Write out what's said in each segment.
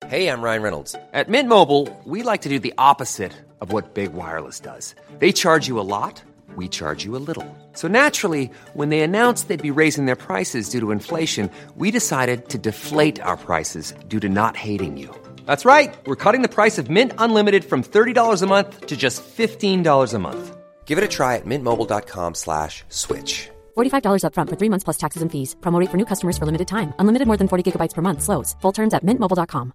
Hey, I'm Ryan Reynolds. At Mint Mobile, we like to do the opposite of what Big Wireless does. They charge you a lot, we charge you a little. So naturally, when they announced they'd be raising their prices due to inflation, we decided to deflate our prices due to not hating you. That's right. We're cutting the price of Mint Unlimited from $30 a month to just $15 a month. Give it a try at mintmobile.com/switch. $45 up front for 3 months plus taxes and fees. Promo rate for new customers for limited time. Unlimited more than 40 gigabytes per month. Slows full terms at mintmobile.com.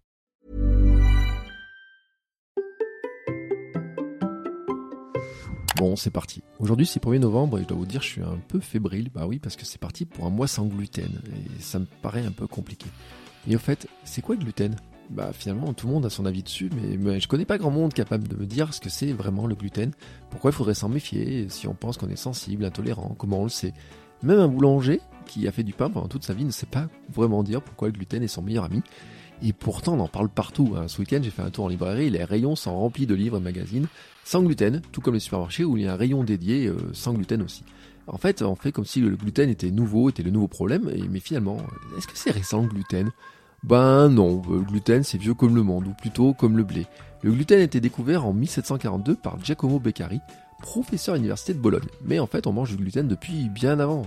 Bon, c'est parti. Aujourd'hui, c'est 1er novembre et je dois vous dire, je suis un peu fébrile. Bah oui, parce que c'est parti pour un mois sans gluten et ça me paraît un peu compliqué. Et au fait, c'est quoi le gluten ? Bah finalement, tout le monde a son avis dessus, mais je connais pas grand monde capable de me dire ce que c'est vraiment le gluten. Pourquoi il faudrait s'en méfier si on pense qu'on est sensible, intolérant, comment on le sait ? Même un boulanger qui a fait du pain pendant toute sa vie ne sait pas vraiment dire pourquoi le gluten est son meilleur ami. Et pourtant, on en parle partout. Ce week-end, j'ai fait un tour en librairie, les rayons sont remplis de livres et magazines sans gluten, tout comme les supermarchés où il y a un rayon dédié sans gluten aussi. En fait, on fait comme si le gluten était le nouveau problème, mais finalement, est-ce que c'est récent le gluten ? Ben non, le gluten c'est vieux comme le monde, ou plutôt comme le blé. Le gluten a été découvert en 1742 par Giacomo Beccari, professeur à l'université de Bologne. Mais en fait, on mange du gluten depuis bien avant.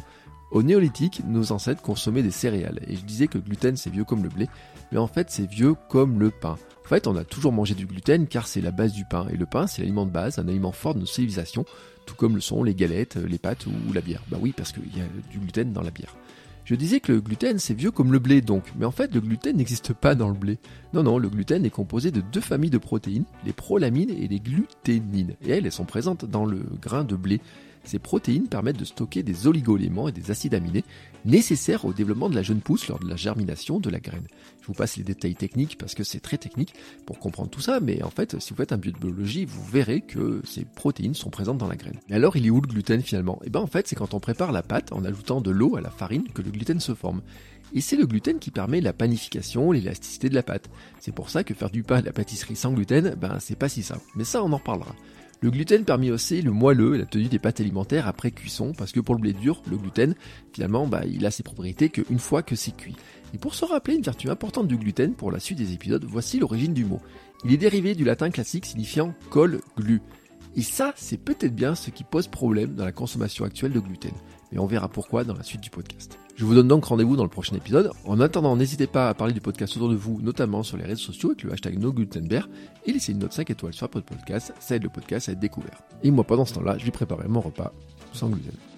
Au néolithique, nos ancêtres consommaient des céréales, et je disais que le gluten c'est vieux comme le blé, mais en fait c'est vieux comme le pain. En fait, on a toujours mangé du gluten car c'est la base du pain, et le pain c'est l'aliment de base, un aliment fort de nos civilisations, tout comme le sont les galettes, les pâtes ou la bière. Bah oui, parce qu'il y a du gluten dans la bière. Je disais que le gluten c'est vieux comme le blé donc, mais en fait le gluten n'existe pas dans le blé. Non, le gluten est composé de 2 familles de protéines, les prolamines et les gluténines, et elles sont présentes dans le grain de blé. Ces protéines permettent de stocker des oligo-éléments et des acides aminés nécessaires au développement de la jeune pousse lors de la germination de la graine. Je vous passe les détails techniques parce que c'est très technique pour comprendre tout ça, mais en fait, si vous faites un bio de biologie, vous verrez que ces protéines sont présentes dans la graine. Mais alors, il est où le gluten finalement ? En fait, c'est quand on prépare la pâte en ajoutant de l'eau à la farine que le gluten se forme. Et c'est le gluten qui permet la panification, l'élasticité de la pâte. C'est pour ça que faire du pain et de la pâtisserie sans gluten, c'est pas si simple. Mais ça, on en reparlera. Le gluten permet aussi le moelleux et la tenue des pâtes alimentaires après cuisson, parce que pour le blé dur, le gluten, finalement, il a ses propriétés qu'une fois que c'est cuit. Et pour se rappeler une vertu importante du gluten pour la suite des épisodes, voici l'origine du mot. Il est dérivé du latin classique signifiant colle, glu. Et ça, c'est peut-être bien ce qui pose problème dans la consommation actuelle de gluten. Mais on verra pourquoi dans la suite du podcast. Je vous donne donc rendez-vous dans le prochain épisode. En attendant, n'hésitez pas à parler du podcast autour de vous, notamment sur les réseaux sociaux avec le hashtag NoGlutenBear, et laissez une note 5 étoiles sur Apple Podcast, ça aide le podcast à être découvert. Et moi, pendant ce temps-là, je vais préparer mon repas sans gluten.